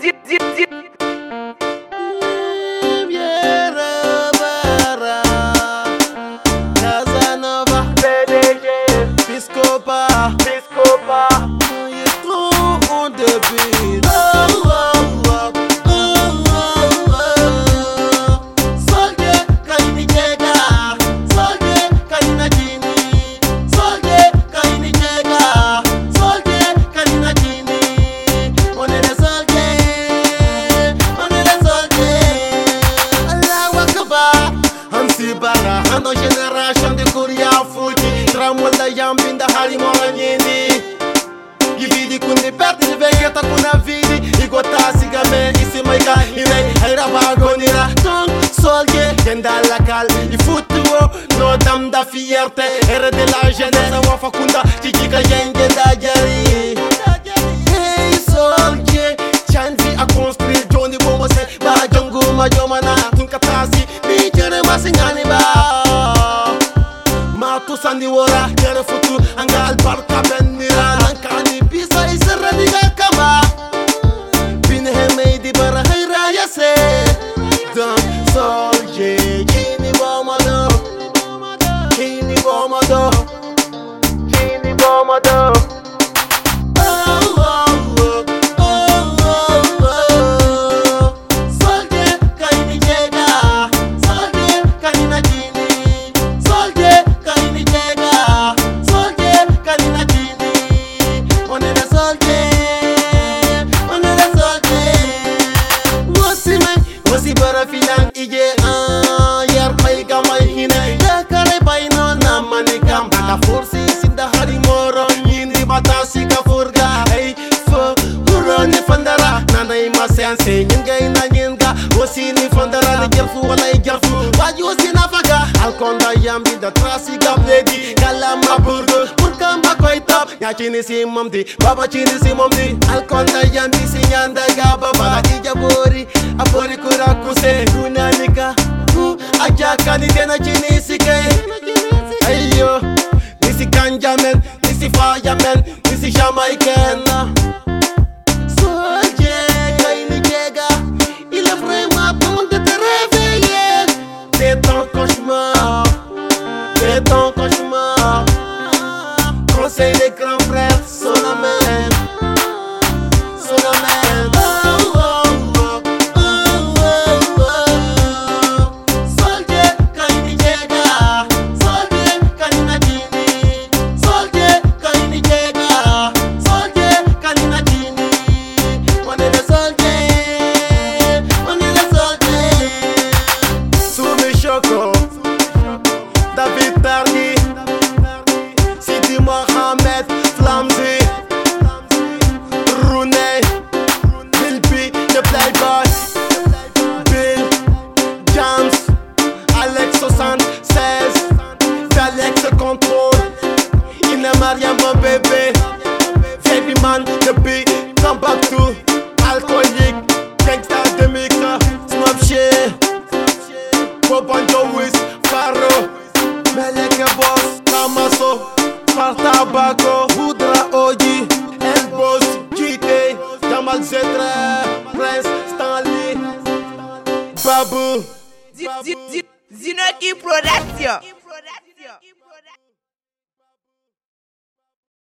Casanova, PDG, Piscopa, il est trop en début. Soldier, Kaini Jega, Soldier, Kanina Jini, Soldier, Kaini Jega, Soldier, Kanina Jini. On est des soldats, on est des soldats. Allahu Akbar, Hamsi Bara, Hano génération de Korea Fuji, Tramolda Yambinda Hari Moranyini. Gividi kundi perti ni vegeta kuna vidi igota sigame isi maika ine haira bagonira ton soldier genda la cal il footwo no dam da fierté era de la jeunesse wa fakunda kikika yenge da jari. Hey soldier chanzi a construire Johnny Bomo se ba jongu ma jomana tunkatasi bi jere masingani ba ma tu sandi wora jere futu angal barka benira lankani bisa isra diga kama bin hemedi bara hayra yase dan soldier kini bomado kini bomado kini bomado. Finan ije yar pay gamay hine ya kare bay no na mani kam da forsi sinda hari moro yindi batasi ka furga hey fo uroni fandara nana ima sense nyinga ina nyinga wasini fandara ni gelfu wala gelfu waji wasina faga alkonda yambi da trasi gabledi kala maburgo purka makoy top ya chini si momdi baba chini si momdi alkonda yambi si nyanda ga baba ija bori apori kura kuse kunanika ajaka ni tena chini sike ayo nisi kanjamen nisi fireman nisi jamaican. Soldier Kaini Jega, il est vraiment temps de te réveiller. C'est ton cauchemar, c'est ton cauchemar. Conseil des grands frères, Solomon, Solomon. David Targi, Sidi Mohamed, Flamzy, Rooney, Bill B, The Playboy, Bill, James, Alex 76, Alex Control, Ina Mariam mon bébé, Baby Man, The Big, Come Back to, Alcoolique, Gangsta de Mixer, Snapchat, Bobanjo Wiz, Faro, Meleke Boss, Kamaso, Partabaco, Boudra Oji, El Boss, GT, Jamal Zetre, Prince, Stanley, Babu, Zinoki Production.